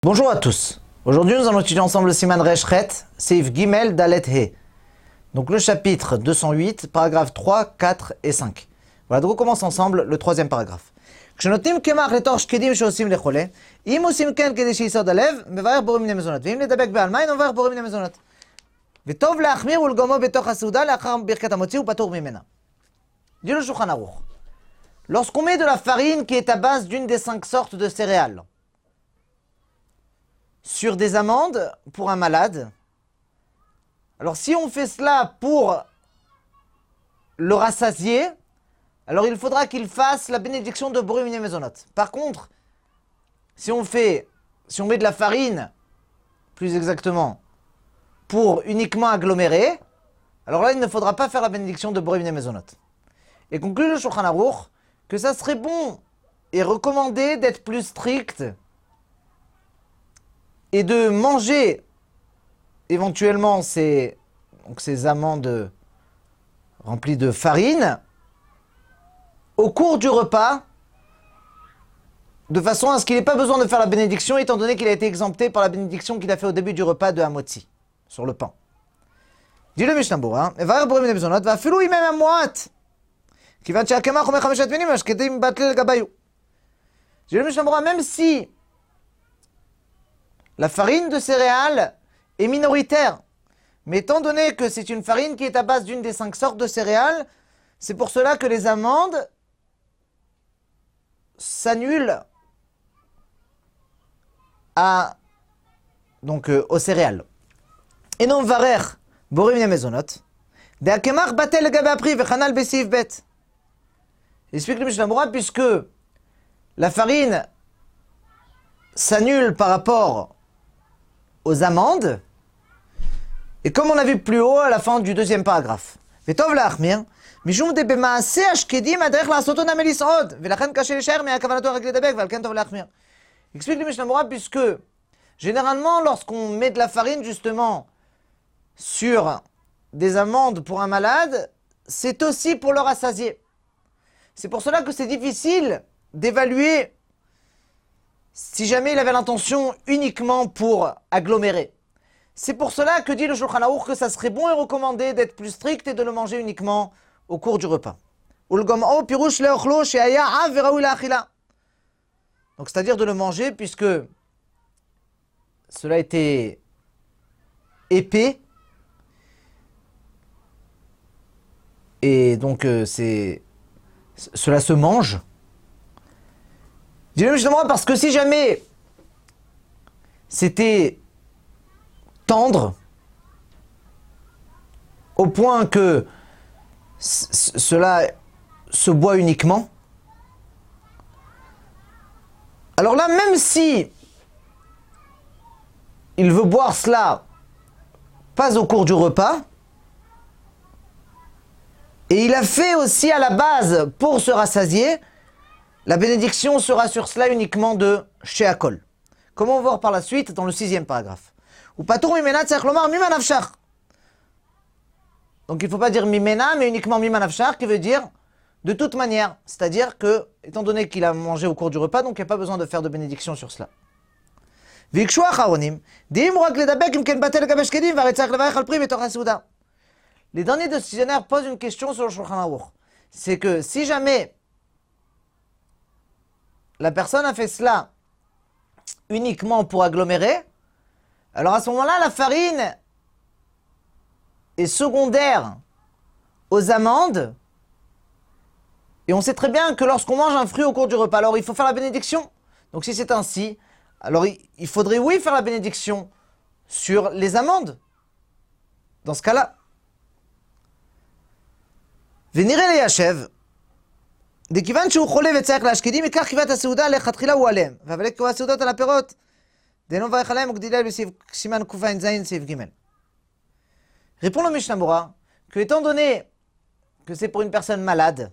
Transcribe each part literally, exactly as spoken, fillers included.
Bonjour à tous. Aujourd'hui, nous allons étudier ensemble le Siman Resh Chet, Seif Gimel Dalet He. Donc le chapitre deux cent huit, paragraphes trois, quatre et cinq. Voilà, donc on commence ensemble le troisième paragraphe. כשנותנים קמח לתוך שקדים שעושים לחולה, אם עושים כן כדי שיסוד הלב, מברך בורא מיני מזונות, ואם לדבק בעל מים, מברך בורא מיני מזונות. וטוב להחמיר ולגומו בתוך הסעודה לאחר ברכת המוציא ופטור ממנה. Dit le Shulchan Aruch. Lorsqu'on met de la farine qui est à base d'une des cinq sortes de céréales sur des amandes pour un malade, alors si on fait cela pour le rassasier, alors il faudra qu'il fasse la bénédiction de Boré Miné Mezonot. Par contre, si on fait, si on met de la farine, plus exactement, pour uniquement agglomérer, alors là il ne faudra pas faire la bénédiction de Boré Miné Mezonot. Et conclut le Shulchan Aruch que ça serait bon et recommandé d'être plus strict et de manger éventuellement ces, donc ces amandes remplies de farine au cours du repas, de façon à ce qu'il n'ait pas besoin de faire la bénédiction, étant donné qu'il a été exempté par la bénédiction qu'il a fait au début du repas de Hamotzi, sur le pain. Dit le Mishnah Berurah, Evarer Boré Miné Mezonot, ואפילו אם הם המועט, כיוון שהקמח אומר חמשת מינים, השקדים בטל לגביו. Dit le Mishnah Berurah, même si la farine de céréales est minoritaire, mais étant donné que c'est une farine qui est à base d'une des cinq sortes de céréales, c'est pour cela que les amandes s'annulent à, donc, euh, aux céréales. Et non varer Boré Miné Mezonot, de hakemach batel legabe apri vechanal besif bet. Explique le Mishnah Berurah, puisque la farine s'annule par rapport aux amandes, et comme on a vu plus haut à la fin du deuxième paragraphe. ותוב להחמיר, משום דבמעשה השקדים הדרך לעשותו נמי לסעוד, ולכן קשה להישאר מהכוונתו רק לדבק, ועל כן טוב להחמיר. Explique le Mishnah Berurah, puisque généralement lorsqu'on met de la farine justement sur des amandes pour un malade, c'est aussi pour le rassasier. C'est pour cela que c'est difficile d'évaluer si jamais il avait l'intention uniquement pour agglomérer. C'est pour cela que dit le Shulchan Aruch que ça serait bon et recommandé d'être plus strict et de le manger uniquement au cours du repas. Donc c'est-à-dire de le manger puisque cela était épais et donc euh, c'est cela se mange. Dis-le justement parce que si jamais c'était tendre au point que cela se boit uniquement, alors là, même si il veut boire cela pas au cours du repas, et il a fait aussi à la base pour se rassasier, la bénédiction sera sur cela uniquement de Sheakol. Comme on va voir par la suite dans le sixième paragraphe. Ou patour mimena tzarich lomar mima nafshach. Donc il ne faut pas dire mimena, mais uniquement mima nafshach, qui veut dire de toute manière. C'est-à-dire que, étant donné qu'il a mangé au cours du repas, donc il n'y a pas besoin de faire de bénédiction sur cela. Vikshu acharonim, diim rak ledabek im ken batel legabe shkedim והרי צריך לברך על פרי בתוך הסעודה. Les derniers décisionnaires posent une question sur le Shulchan Aruch. C'est que si jamais la personne a fait cela uniquement pour agglomérer, alors à ce moment-là, la farine est secondaire aux amandes. Et on sait très bien que lorsqu'on mange un fruit au cours du repas, alors il faut faire la bénédiction. Donc si c'est ainsi, alors il faudrait oui faire la bénédiction sur les amandes. Dans ce cas-là. ונראה ליישב, דכיוון שהוא חולה וצריך להשקידים, ייקח קיבת הסעודה לכתחילה הוא עליהם, אבל לקבוע הסעודות על הפירות, דהיינו מברך עליהם וגדילה בסעיף סימן קע"ז סעיף ג'. Répond le Mishnah Berurah que étant donné que c'est pour une personne malade,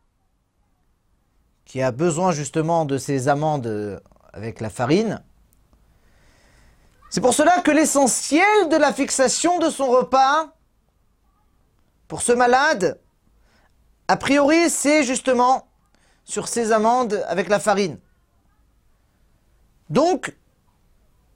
qui a besoin justement de ces amandes avec la farine, c'est pour cela que l'essentiel de la fixation de son repas, pour ce malade, a priori, c'est justement sur ces amandes avec la farine. Donc,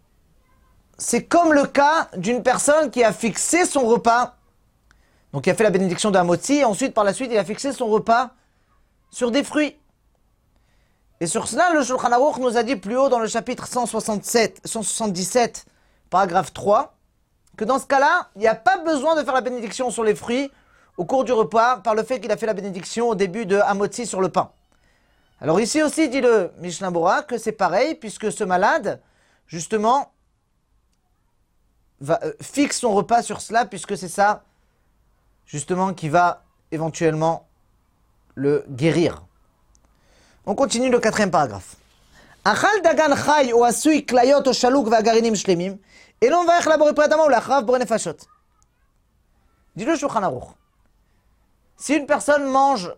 c'est comme le cas d'une personne qui a fixé son repas, donc qui a fait la bénédiction de Hamotzi, et ensuite par la suite il a fixé son repas sur des fruits. Et sur cela, le Shulchan Aruch nous a dit plus haut dans le chapitre cent soixante-sept, cent soixante-dix-sept, paragraphe trois, que dans ce cas-là, il n'y a pas besoin de faire la bénédiction sur les fruits au cours du repas par le fait qu'il a fait la bénédiction au début de Hamotzi sur le pain. Alors ici aussi, dit le Mishnah Bora, que c'est pareil, puisque ce malade, justement, va, euh, fixe son repas sur cela, puisque c'est ça, justement, qui va éventuellement le guérir. On continue le quatrième paragraphe. Achal dagan chay ou asui klayot ou shalouk v'agarinim shlemim, et l'on va élaborer près d'ama ou l'achrav boré nefashot. Dit le Shulchan Aruch. Si une personne mange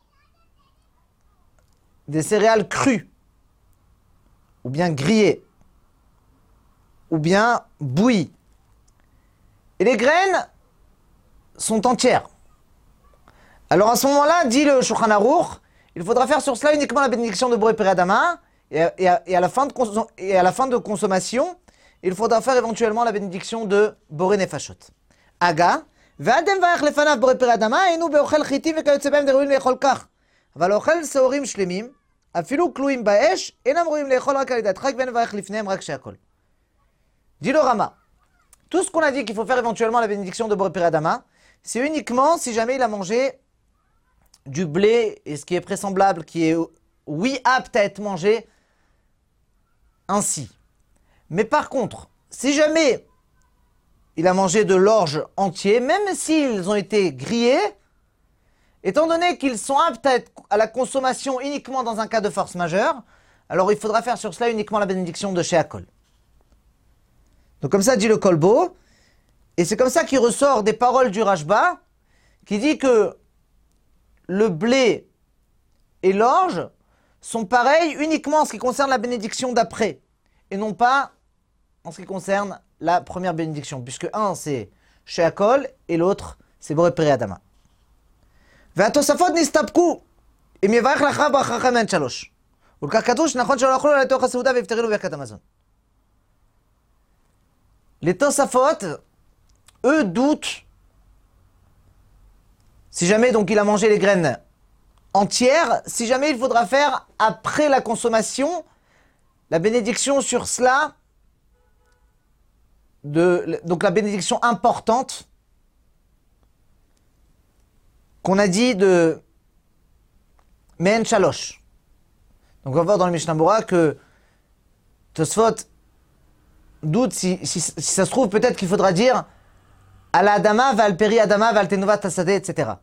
des céréales crues, ou bien grillées, ou bien bouillies, et les graines sont entières, alors à ce moment-là, dit le Shulchan Aruch, il faudra faire sur cela uniquement la bénédiction de Boré Peri Adama, et, et, et, à la fin de et à la fin de consommation, il faudra faire éventuellement la bénédiction de Boré Nefashot. Aga, V'adem va'ach lefanav Boré Peri Adama, et nous be'ochel chitim ve'kayotze b'hem deruim le'echol kach. אבל אוכל שעורים שלמים, אפילו כלואים באש, אינם ראויים לאכול רק על ידי הדחק ואין לברך לפניהם רק שהכל. Dit le Rama, tout ce qu'on a dit qu'il faut faire éventuellement la bénédiction de Boré Peri Adama, c'est uniquement si jamais il a mangé du blé, et ce qui est vraisemblable, qui est, oui, apte à être mangé ainsi. Mais par contre, si jamais il a mangé de l'orge entier, même s'ils ont été grillés, étant donné qu'ils sont aptes à, être à la consommation uniquement dans un cas de force majeure, alors il faudra faire sur cela uniquement la bénédiction de Sheakol. Donc comme ça dit le Kolbo, et c'est comme ça qu'il ressort des paroles du Rashba, qui dit que le blé et l'orge sont pareils uniquement en ce qui concerne la bénédiction d'après, et non pas en ce qui concerne la première bénédiction, puisque un c'est Sheakol et l'autre c'est Boré Peri Adama. והתוספות נסתפקו אם יברך לך ברכה חמן שלוש. ולכך כתוב שנכון שלא אכלו אלא לתוך הסעודה ויפטרנו ברכת המזון. Les Tosafot, eux, doutent si jamais donc il a mangé les graines entières, si jamais il faudra faire après la consommation la bénédiction sur cela, de, donc la bénédiction importante qu'on a dit de Mehen Shalosh. Donc on va voir dans le Mishnah Bora que Tosfot doute si, si, si ça se trouve peut-être qu'il faudra dire Al Adama, Val Peri Adama, Val Tenova Tasade, et cetera.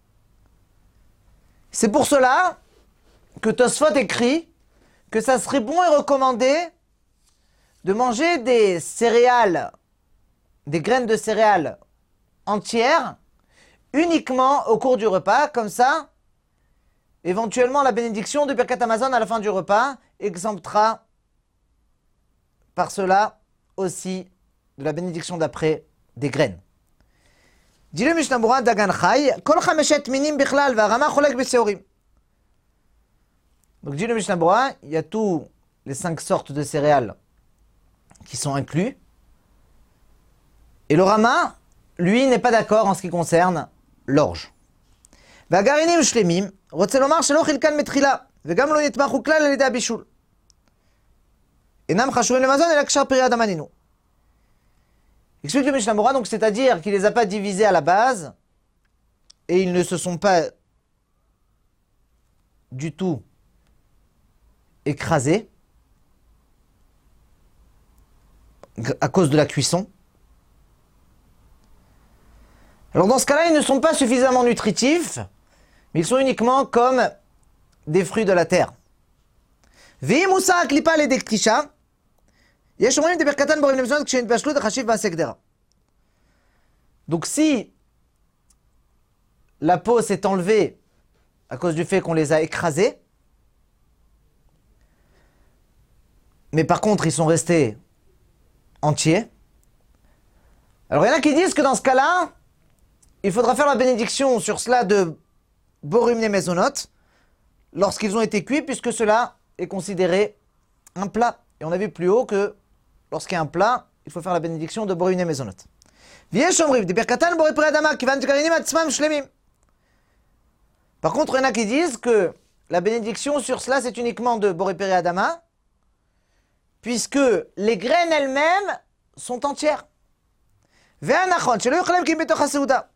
C'est pour cela que Tosfot écrit que ça serait bon et recommandé de manger des céréales, des graines de céréales entières, uniquement au cours du repas, comme ça, éventuellement la bénédiction de Birkat Hamazon à la fin du repas exemptera par cela aussi de la bénédiction d'après des graines. Dit le Mishnah Bora Dagan Chay, Kol Chameshet Minim Bichlal V'Arama Cholek B'Seorim. Donc dit le Mishnah Bora, il y a tous les cinq sortes de céréales qui sont inclus. Et le Rama, lui, n'est pas d'accord en ce qui concerne l'orge. והגרעינים שלמים, רוצה לומר שלא חילקן מתחילה, וגם לא יתמחו כלל על ידי הבישול. אינם חשובים למזון, אלא קשר פרי אדם ענינו. Explique le Mishnah Bora, donc c'est-à-dire qu'il ne les a pas divisés à la base, et ils ne se sont pas du tout écrasés, à cause de la cuisson. Alors dans ce cas-là, ils ne sont pas suffisamment nutritifs, mais ils sont uniquement comme des fruits de la terre. Donc si la peau s'est enlevée à cause du fait qu'on les a écrasés, mais par contre ils sont restés entiers, alors il y en a qui disent que dans ce cas-là, il faudra faire la bénédiction sur cela de Borim Mezonot lorsqu'ils ont été cuits, puisque cela est considéré un plat. Et on a vu plus haut que lorsqu'il y a un plat, il faut faire la bénédiction de Boré Miné Mezonot. Viesh Omriv, des Birkatan Boré Pri Adama, qui van Tkarinim Atzmam Shlemim. Par contre, il y en a qui disent que la bénédiction sur cela, c'est uniquement de Boré Pri Adama, puisque les graines elles-mêmes sont entières. Ve'anachon, shelo yochalem ki betoch ha-seuda.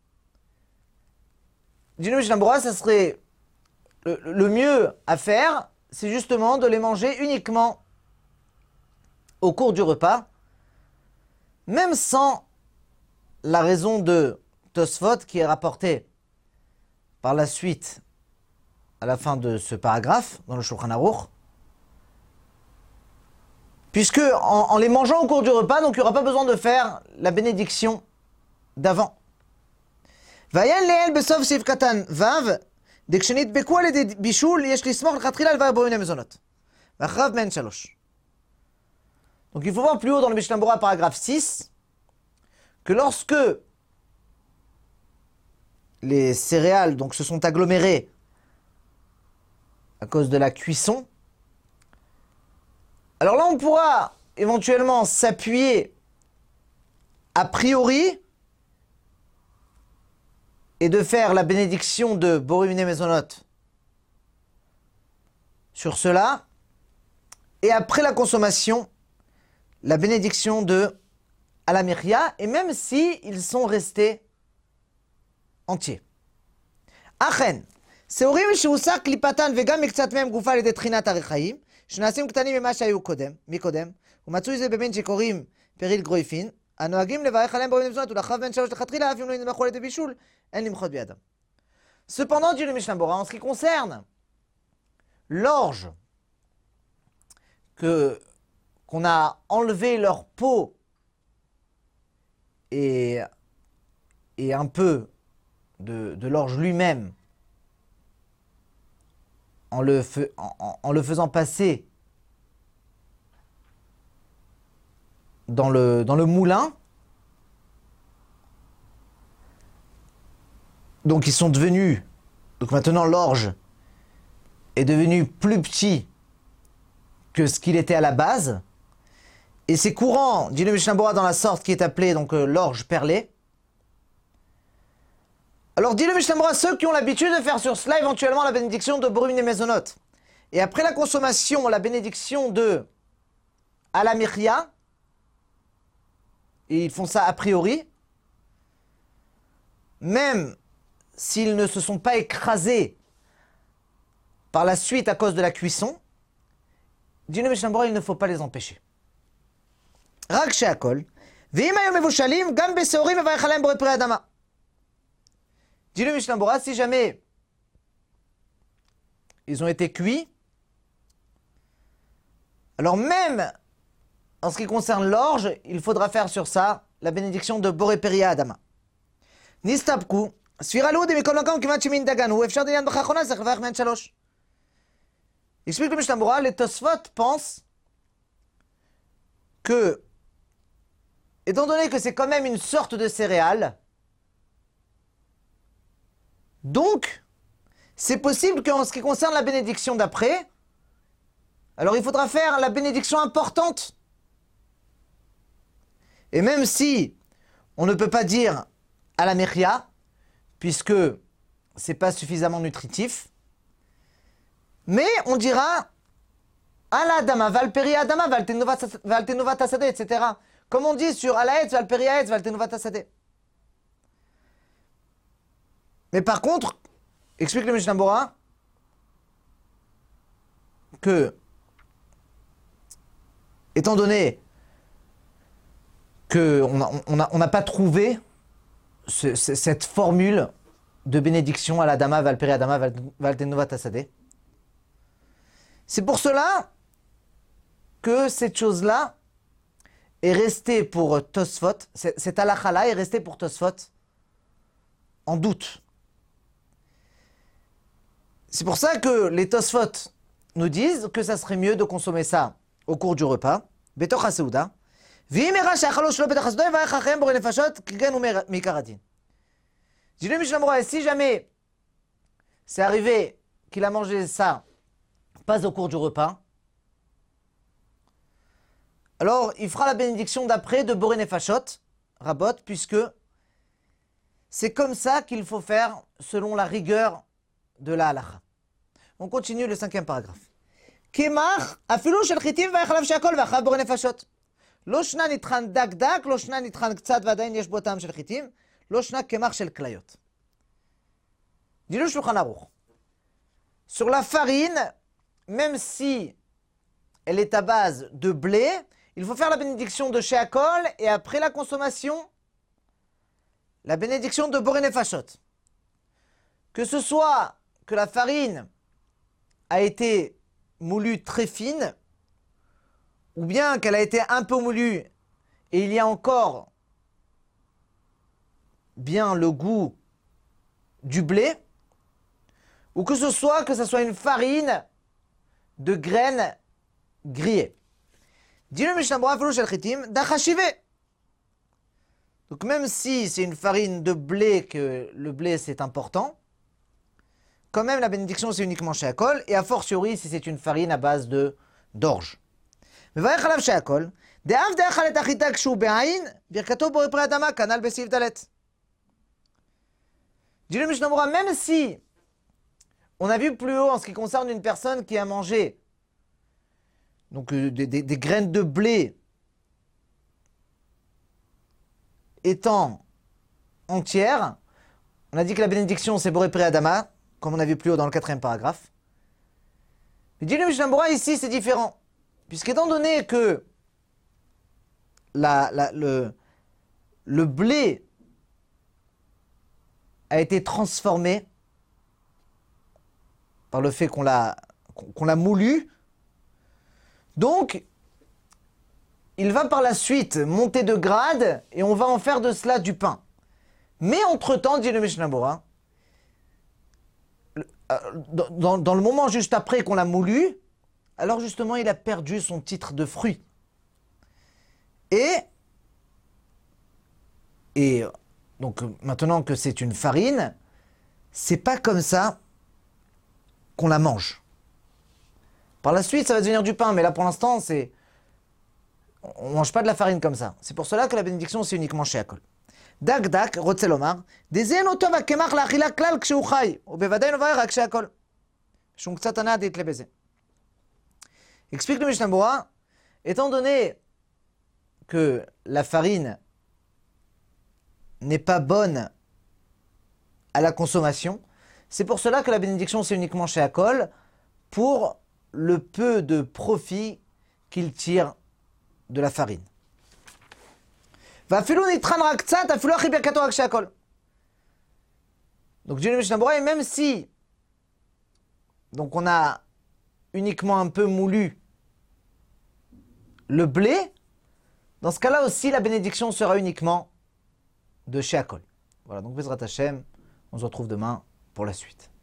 Dit le Mishnah Berurah, ça serait le, le mieux à faire, c'est justement de les manger uniquement au cours du repas, même sans la raison de Tosfot qui est rapportée par la suite à la fin de ce paragraphe dans le Shulchan Aruch, puisque en, en les mangeant au cours du repas, donc il n'y aura pas besoin de faire la bénédiction d'avant. Vayan leel besof sif katan vav dekshenitbeku al yedei bishul yesh lismoch lechatchila al Boré Miné Mezonot. V'achrav men shalosh. Donc il faut voir plus haut dans le Mishnah Berurah, paragraphe six, que lorsque les céréales donc, se sont agglomérées à cause de la cuisson, alors là on pourra éventuellement s'appuyer a priori et de faire la bénédiction de Boré Miné Mezonot sur cela, et après la consommation, la bénédiction de Alamiria, et même si ils sont restés entiers. Achen, Seorim shehusak klipatan vegam miktzat mehem gufa al yedei tchinat harechaim, שנעשים קטנים ממה שהיו קודם, מקודם, ומצוי זה בבין שקוראים פריל גרויפין, הנוהגים לברך עליהם בורא מיני מזונות ולאחריו בן שלוש לכתחילה, אף אם לא נמחו על ידי בישול, אין למחות בידם. Cependant, dit le Mishnah Berurah, en ce qui concerne l'orge que qu'on a enlevé leur peau et, et un peu de, de l'orge lui-même en le, fe, en, en le faisant passer dans le, dans le moulin. Donc ils sont devenus, donc maintenant l'orge est devenu plus petit que ce qu'il était à la base. Et c'est courant, dit le Mishnah Berurah, dans la sorte qui est appelée donc euh, l'orge perlée. Alors dit le Mishnah Berurah, ceux qui ont l'habitude de faire sur cela éventuellement la bénédiction de Boré Miné Mezonot, et après la consommation, la bénédiction de Alamiria, et ils font ça a priori, même s'ils ne se sont pas écrasés par la suite à cause de la cuisson, dit le Mishnah Berurah, il ne faut pas les empêcher. Rak she'akol, ve'im hayom mevushalim, gam beseorim mevarech aleim Boré Pri Adama. Dit le Mishnah Berurah, si jamais ils ont été cuits, alors même en ce qui concerne l'orge, il faudra faire sur ça la bénédiction de Boré Pri Adama. Nistabku, sfiralou de mikol makam kivat shemin daganu, efshar dinyan b'chachona zech levach men shalosh. Explique le Mishnah Berurah, les Tosfot pensent que, étant donné que c'est quand même une sorte de céréale, donc, c'est possible qu'en ce qui concerne la bénédiction d'après, alors il faudra faire la bénédiction importante. Et même si on ne peut pas dire à la Mechia, puisque c'est pas suffisamment nutritif, mais on dira à la Adama, Valperi Adama, Valtenova Tasade, et cetera. Comme on dit sur Alaetz, Valperi Aetz, Valtenova Tasade. Mais par contre, explique le Mishnah Berurah que, étant donné qu'on n'a on a, on a pas trouvé ce, ce, cette formule de bénédiction à la Dama, Valperi Adama, Valtenova Tasade, c'est pour cela que cette chose-là est restée pour Tosfot, cette halakha-là est restée pour Tosfot en doute. C'est pour ça que les Tosfot nous disent que ça serait mieux de consommer ça au cours du repas. Betoch ha-seuda. Dit le Mishnah Berurah, si jamais c'est arrivé qu'il a mangé ça pas au cours du repas, alors il fera la bénédiction d'après de Boré Nefashot, Rabot, puisque c'est comme ça qu'il faut faire selon la rigueur de la halacha. On continue le cinquième paragraphe. Kemach, afilu shel chitim v'achalav she'akol v'achalav Boré Nefashot. לא שנה נטחן דק דק, לא שנה נטחן קצת ועדיין יש בו טעם של חיטים, לא שנה קמח של כליות. Dit le Shulchan Aruch. Sur la farine, même si elle est à base de blé, il faut faire la bénédiction de Sheakol et après la consommation, la bénédiction de Boré Nefashot. Que ce soit que la farine a été moulue très fine, ou bien qu'elle a été un peu moulue et il y a encore bien le goût du blé, ou que ce soit que ce soit une farine de graines grillées. Dis le Mishnah Berurah Afilu shel chitim dachashive. Donc même si c'est une farine de blé, que le blé c'est important, quand même la bénédiction c'est uniquement Sheakol, et a fortiori si c'est une farine à base de d'orge. מברך עליו שהכל, דאף דאכל את החיטה כשהוא בעין, ברכתו בורא פרי אדמה, כנ"ל בסעיף ד'. Dit le Mishnah Berurah, même si on a vu plus haut en ce qui concerne une personne qui a mangé donc euh, des, des, des graines de blé étant entières, on a dit que la bénédiction c'est Boré Peri Adama, comme on a vu plus haut dans le quatrième paragraphe. Mais dit le Mishnah Berurah, ici c'est différent. Puisqu'étant donné que la, la, le, le blé a été transformé par le fait qu'on l'a qu'on l'a moulu, donc il va par la suite monter de grade et on va en faire de cela du pain. Mais entre-temps, dit le Mishnah Berurah, dans, dans, dans le moment juste après qu'on l'a moulu, alors justement, il a perdu son titre de fruit. Et, et donc maintenant que c'est une farine, c'est pas comme ça qu'on la mange. Par la suite, ça va devenir du pain, mais là pour l'instant, c'est on mange pas de la farine comme ça. C'est pour cela que la bénédiction c'est uniquement Sheakol. Dak dak, רוצה לומר, דזיין אותו והקמח לאכילה כלל כשהוא חי, ובוודאי נברך רק Sheakol. שום קצת הנאה דתלה בזה. Explique le Mishnah Berurah, étant donné que la farine n'est pas bonne à la consommation, c'est pour cela que la bénédiction c'est uniquement Sheakol, pour le peu de profit qu'il tire de la farine. Donc dit le Mishnah Berurah, et même si donc on a uniquement un peu moulu le blé, dans ce cas-là aussi la bénédiction sera uniquement de Sheakol. Voilà, donc Bezrat Hashem, on se retrouve demain pour la suite.